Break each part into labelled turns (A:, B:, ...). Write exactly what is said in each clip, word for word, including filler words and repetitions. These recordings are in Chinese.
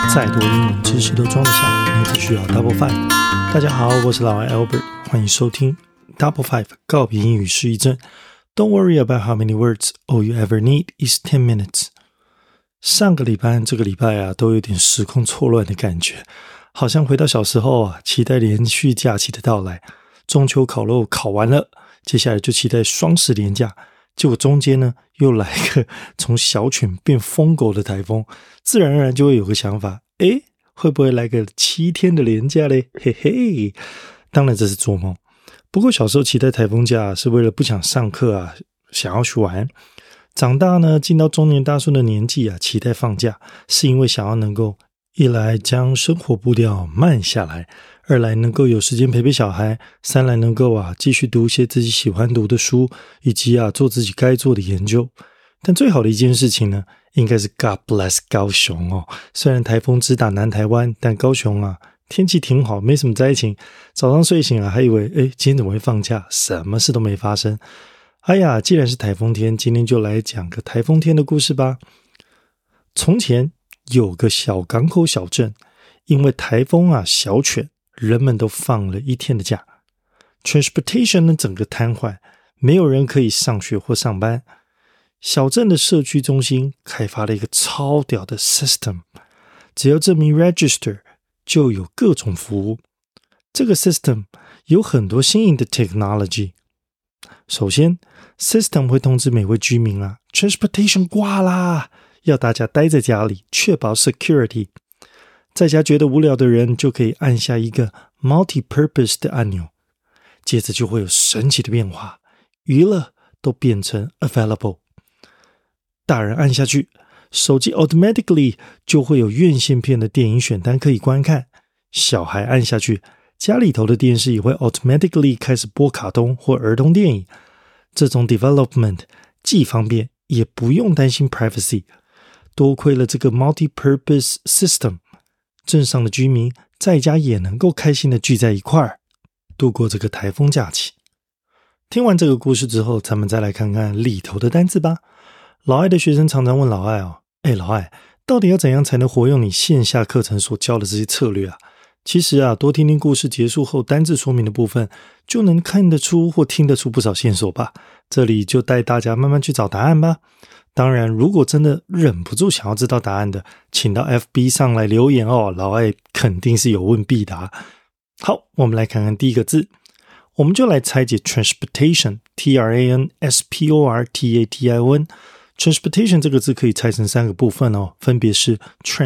A: 再多英文知识都装得下，你只需要 Double Five。大家好，我是老外 Albert， 欢迎收听 Double Five 告别英语失忆症。Don't worry about how many words, all you ever need is ten minutes。 上个礼拜这个礼拜啊，都有点时空错乱的感觉，好像回到小时候啊，期待连续假期的到来。中秋烤肉烤完了，接下来就期待双十连假，结果中间呢又来个从小犬变疯狗的台风，自然而然就会有个想法，诶，会不会来个七天的连假嘞？嘿嘿，当然这是做梦。不过小时候期待台风假是为了不想上课啊，想要去玩。长大呢，进到中年大叔的年纪啊，期待放假是因为想要能够一来将生活步调慢下来，二来能够有时间陪陪小孩，三来能够啊继续读一些自己喜欢读的书，以及啊做自己该做的研究。但最好的一件事情呢，应该是 God bless 高雄哦。虽然台风直打南台湾，但高雄啊天气挺好，没什么灾情。早上睡醒啊，还以为诶今天怎么会放假？什么事都没发生。哎呀，既然是台风天，今天就来讲个台风天的故事吧。从前有个小港口小镇，因为台风啊小犬，人们都放了一天的假。Transportation 呢整个瘫痪，没有人可以上学或上班。小镇的社区中心开发了一个超屌的 system， 只要证明 register 就有各种服务。这个 system 有很多新颖的 technology。 首先 system 会通知每位居民啊 transportation 挂啦，要大家待在家里，确保 security。 在家觉得无聊的人就可以按下一个 multi-purpose 的按钮，接着就会有神奇的变化，娱乐都变成 available。大人按下去，手机 automatically 就会有院线片的电影选单可以观看。小孩按下去，家里头的电视也会 automatically 开始播卡通或儿童电影。这种 development 既方便，也不用担心 privacy。 多亏了这个 multi-purpose system， 镇上的居民在家也能够开心的聚在一块儿，度过这个台风假期。听完这个故事之后，咱们再来看看里头的单字吧。老艾的学生常常问老艾哦，诶老艾，到底要怎样才能活用你线下课程所教的这些策略啊？其实啊，多听听故事结束后单字说明的部分，就能看得出或听得出不少线索吧。这里就带大家慢慢去找答案吧。当然，如果真的忍不住想要知道答案的，请到 F B 上来留言哦，老艾肯定是有问必答。好，我们来看看第一个字，我们就来拆解 transportation T R A N S P O R T A T I O N。 transportation 这个字可以拆成三个部分哦，分别是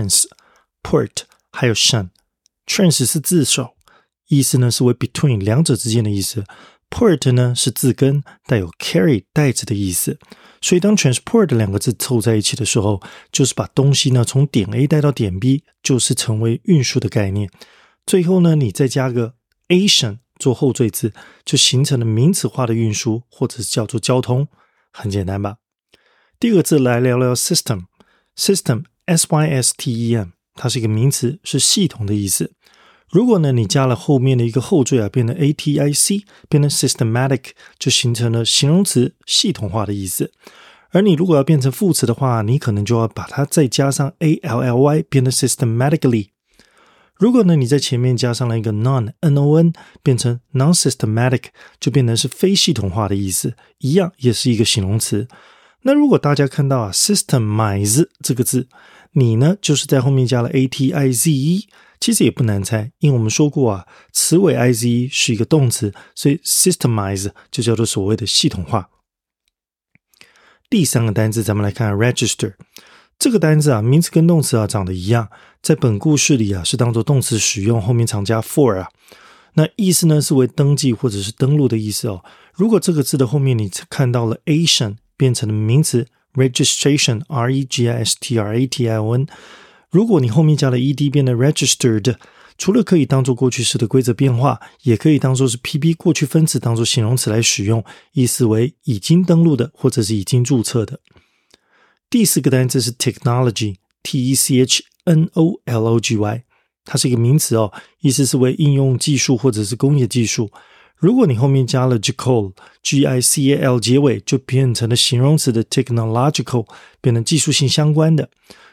A: trans、port 还有 shun。Trans 是字首，意思呢是为 between 两者之间的意思。Port 呢是字根，带有 carry 带着的意思。所以当 transport 两个字凑在一起的时候，就是把东西呢从点 A 带到点 B， 就是成为运输的概念。最后呢你再加个 Asian 做后缀字，就形成了名词化的运输，或者是叫做交通。很简单吧。第二个字来聊聊 system。 System S Y S T E M，它是一个名词，是系统的意思。如果呢你加了后面的一个后缀啊，变成 A T I C， 变成 systematic， 就形成了形容词系统化的意思。而你如果要变成副词的话，你可能就要把它再加上 A L L Y， 变成 systematically。 如果呢你在前面加上了一个 non N O N， 变成 non-systematic， 就变成是非系统化的意思，一样也是一个形容词。那如果大家看到啊 systemize 这个字，你呢就是在后面加了 A T I Z E， 其实也不难猜，因为我们说过啊，词尾 I Z E 是一个动词，所以 systemize 就叫做所谓的系统化。第三个单字咱们来看 register。 这个单字啊，名词跟动词啊长得一样，在本故事里啊是当作动词使用，后面常加 for 啊。那意思呢是为登记或者是登录的意思哦。如果这个字的后面你看到了 Asian， 变成了名词registration R E G I S T R A T I O N， 如果你后面加了 ed 变成 registered， 除了可以当作过去式的规则变化，也可以当作是 P B 过去分词当作形容词来使用，意思为已经登录的或者是已经注册的。第四个单词是 technology T E C H N O L O G Y， 它是一个名词哦，意思是为应用技术或者是工业技术。如果你后面加了 gical G I C A L 结尾，就变成了形容词的 technological， 变成技术性相关的。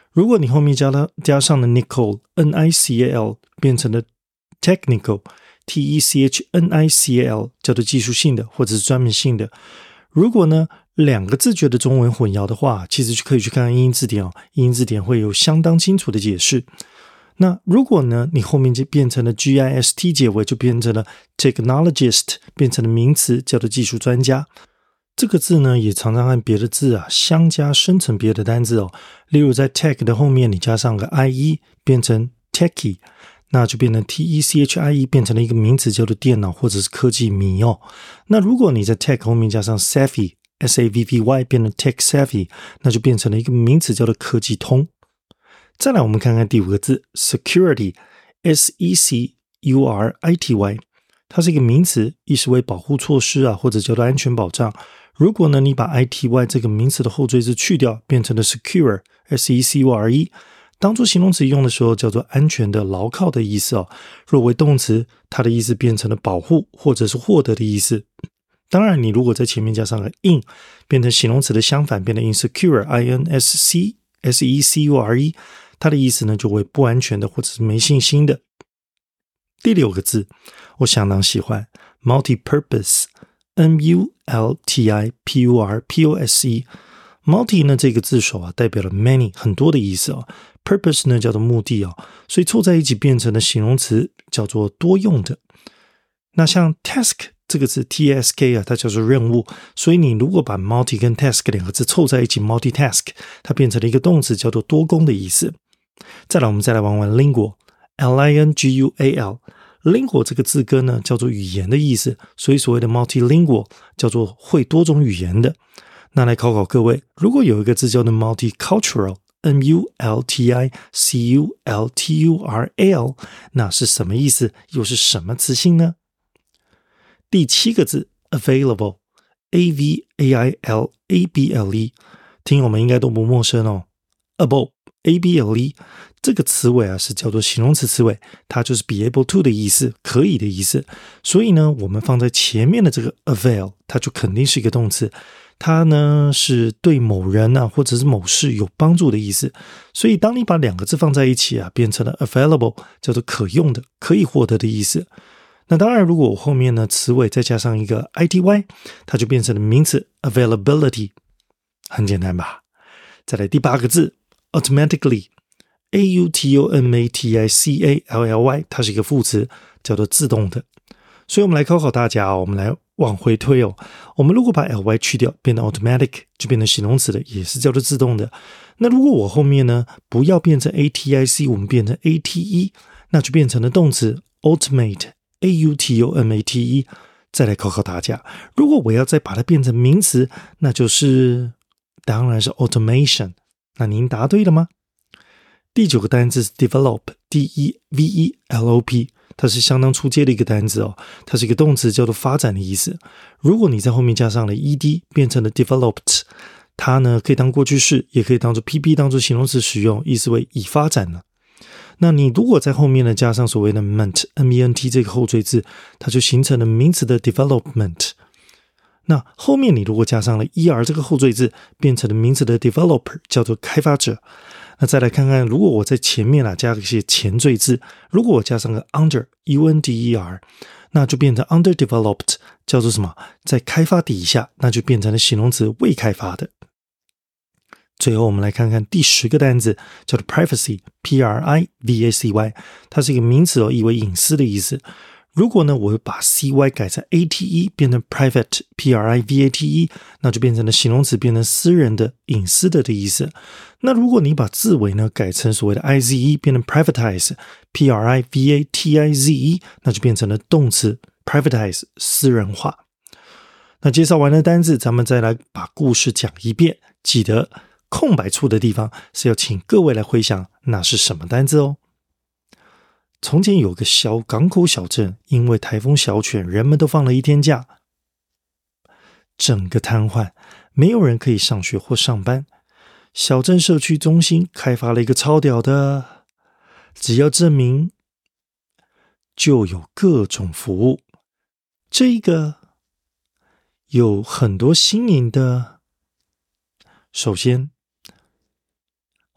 A: 如果你后面加了加上了 Nicole N I C A L 变成了 technical T E C H N I C A L 叫做技术性的或者是专门性的。如果呢两个字觉得中文混淆的话，其实就可以去看看英英字典哦，英英字典会有相当清楚的解释。那如果呢你后面就变成了 G I S T 结尾，就变成了 technologist 变成了名词叫做技术专家。这个字呢也常常和别的字啊相加生成别的单字哦，例如在 tech 的后面你加上个 I-E 变成 techie， 那就变成 T E C H I E 变成了一个名词叫做电脑或者是科技迷哦。那如果你在 tech 后面加上 savvy S A V V Y 变成 tech savvy， 那就变成了一个名词叫做科技通。再来我们看看第五个字 security S E C U R I T Y， 它是一个名词，意思为保护措施啊，或者叫做安全保障。如果呢你把 I T Y 这个名词的后缀字去掉，变成了 secure S E C U R E， 当作形容词用的时候叫做安全的牢靠的意思哦。若为动词，它的意思变成了保护或者是获得的意思。当然你如果在前面加上了 in 变成形容词的相反，变成 insecure I N S C S E C U R E， 它的意思呢就为不安全的或者是没信心的。第六个字我相当喜欢 multi-purpose M U L T I P U R P O S E。 multi 呢这个字首啊代表了 many 很多的意思哦， purpose 呢叫做目的哦，所以凑在一起变成了形容词叫做多用的。那像 task 这个字 T S K 啊，它叫做任务，所以你如果把 multi 跟 task 两个字凑在一起 multitask， 它变成了一个动词叫做多工的意思。再来我们再来玩玩 lingual L I N G U A L， lingual 这个字根呢叫做语言的意思，所以所谓的 multilingual 叫做会多种语言的。那来考考各位，如果有一个字叫做 multicultural M U L T I C U L T U R A L， 那是什么意思，又是什么词性呢？第七个字 available A V A I L A B L E， 听友们应该都不陌生哦。 able A B L E 这个词尾啊是叫做形容词词尾，它就是 be able to 的意思，可以的意思。所以呢我们放在前面的这个 avail 它就肯定是一个动词，它呢是对某人啊或者是某事有帮助的意思。所以当你把两个字放在一起啊，变成了 available 叫做可用的，可以获得的意思。那当然如果我后面呢词尾再加上一个 I T Y， 它就变成了名词 availability， 很简单吧。再来第八个字 automatically A U T O M A T I C A L L Y， 它是一个副词叫做自动的。所以我们来考考大家哦，我们来往回推哦。我们如果把 L Y 去掉变成 automatic， 就变成形容词的，也是叫做自动的。那如果我后面呢不要变成 A T I C， 我们变成 A T E， 那就变成了动词 automate A U T O M A T E。 再来考考大家，如果我要再把它变成名词，那就是当然是 automation。 那您答对了吗？第九个单字是 develop D E V E L O P， 它是相当出街的一个单字哦，它是一个动词叫做发展的意思。如果你在后面加上了 ed 变成了 developed， 它呢可以当过去式，也可以当做 P P 当做形容词使用，意思为已发展了。那你如果在后面呢加上所谓的 ment M E N T 这个后缀字，它就形成了名词的 development。 那后面你如果加上了 er 这个后缀字，变成了名词的 developer， 叫做开发者。那再来看看，如果我在前面啊加一些前缀字，如果我加上个 under U N D E R， 那就变成 underdeveloped， 叫做什么，在开发底下，那就变成了形容词未开发的。最后我们来看看第十个单字叫做 privacy P R I V A C Y， 它是一个名词哦，意为隐私的意思。如果呢我把 C Y 改成 A T E 变成 private P R I V A T E， 那就变成了形容词，变成私人的隐私的的意思。那如果你把字尾呢改成所谓的 I Z E 变成 privatize P R I V A T I Z E， 那就变成了动词 privatize 私人化。那介绍完了单字，咱们再来把故事讲一遍，记得空白处的地方是要请各位来回想那是什么单字哦。从前有个小港口小镇，因为台风小犬，人们都放了一天假，整个瘫痪，没有人可以上学或上班。小镇社区中心开发了一个超屌的，只要证明就有各种服务。这个有很多新颖的，首先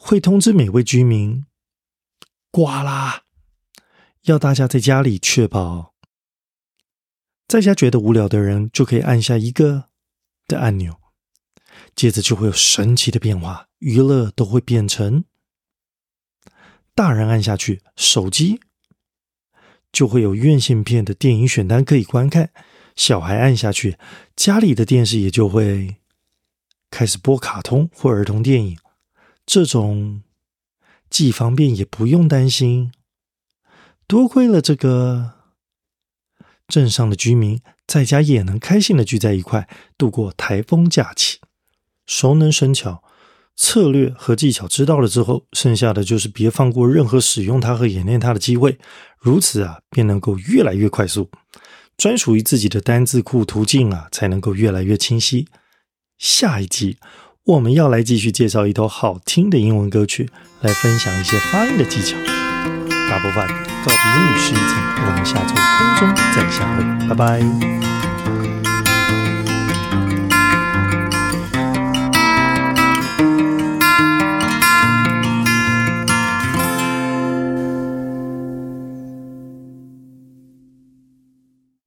A: 会通知每位居民，呱啦，要大家在家里确保。在家觉得无聊的人就可以按下一个的按钮，接着就会有神奇的变化，娱乐都会变成大人按下去，手机就会有院线片的电影选单可以观看，小孩按下去，家里的电视也就会开始播卡通或儿童电影。这种既方便也不用担心，多亏了这个镇上的居民在家也能开心的聚在一块，度过台风假期。熟能生巧，策略和技巧知道了之后，剩下的就是别放过任何使用它和演练它的机会，如此啊，便能够越来越快速，专属于自己的单字库途径啊，才能够越来越清晰。下一集我们要来继续介绍一首好听的英文歌曲，来分享一些发音的技巧。大部分告别英语是一层，我们下周空中再相会，拜拜。